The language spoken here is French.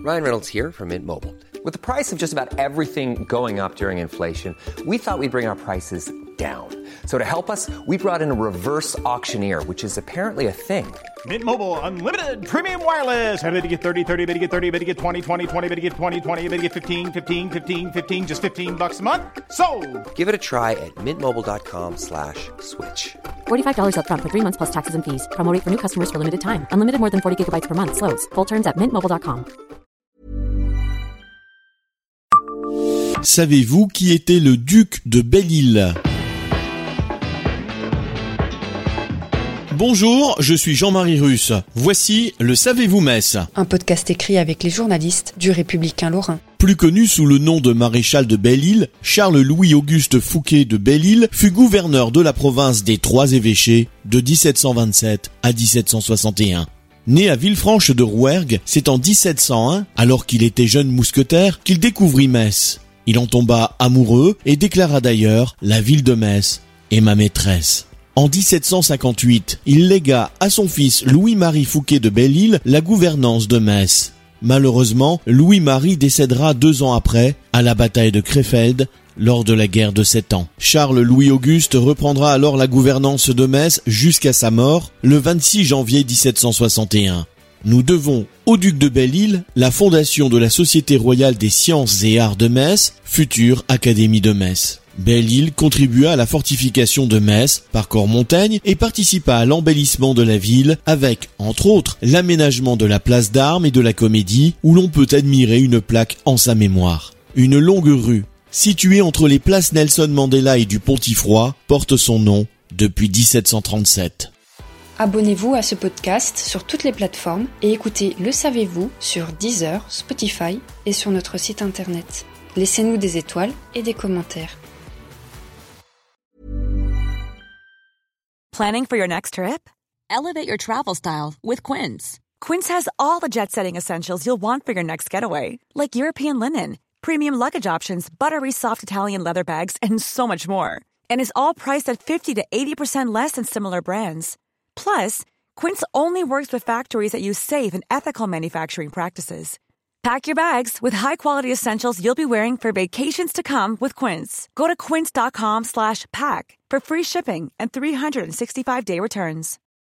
Ryan Reynolds here from Mint Mobile. With the price of just about everything going up during inflation, we thought we'd bring our prices down. So to help us, we brought in a reverse auctioneer, which is apparently a thing. Mint Mobile Unlimited Premium Wireless. How to get 30, 30, bit to get 30, bit to get 20, 20, 20, bit to get 20, 20, bit to get 15, 15, 15, 15, just $15 a month? Sold! Give it a try at mintmobile.com/switch. $45 up front for 3 months plus taxes and fees. Promo rate for new customers for limited time. Unlimited more than 40 gigabytes per month. Slows full terms at mintmobile.com. Savez-vous qui était le duc de Belle-Île ? Bonjour, je suis Jean-Marie Russe. Voici le Savez-vous Metz ? Un podcast écrit avec les journalistes du Républicain Lorrain. Plus connu sous le nom de maréchal de Belle-Île, Charles-Louis-Auguste Fouquet de Belle-Île fut gouverneur de la province des Trois-Évêchés de 1727 à 1761. Né à Villefranche de Rouergue, c'est en 1701, alors qu'il était jeune mousquetaire, qu'il découvrit Metz. Il en tomba amoureux et déclara d'ailleurs « La ville de Metz est ma maîtresse ». En 1758, il légua à son fils Louis-Marie Fouquet de Belle-Île la gouvernance de Metz. Malheureusement, Louis-Marie décédera 2 ans après, à la bataille de Crefeld, lors de la guerre de 7 ans. Charles-Louis-Auguste reprendra alors la gouvernance de Metz jusqu'à sa mort, le 26 janvier 1761. Nous devons au duc de Belle-Île la fondation de la Société royale des sciences et arts de Metz, future Académie de Metz. Belle-Île contribua à la fortification de Metz par Cormontaigne et participa à l'embellissement de la ville avec, entre autres, l'aménagement de la place d'Armes et de la Comédie où l'on peut admirer une plaque en sa mémoire. Une longue rue, située entre les places Nelson Mandela et du Pontifroy, porte son nom depuis 1737. Abonnez-vous à ce podcast sur toutes les plateformes et écoutez Le Savez-vous sur Deezer, Spotify et sur notre site internet. Laissez-nous des étoiles et des commentaires. Planning for your next trip? Elevate your travel style with Quince. Quince has all the jet-setting essentials you'll want for your next getaway, like European linen, premium luggage options, buttery soft Italian leather bags, and so much more. And is all priced at 50 to 80% less than similar brands. Plus, Quince only works with factories that use safe and ethical manufacturing practices. Pack your bags with high-quality essentials you'll be wearing for vacations to come with Quince. Go to quince.com/pack for free shipping and 365-day returns.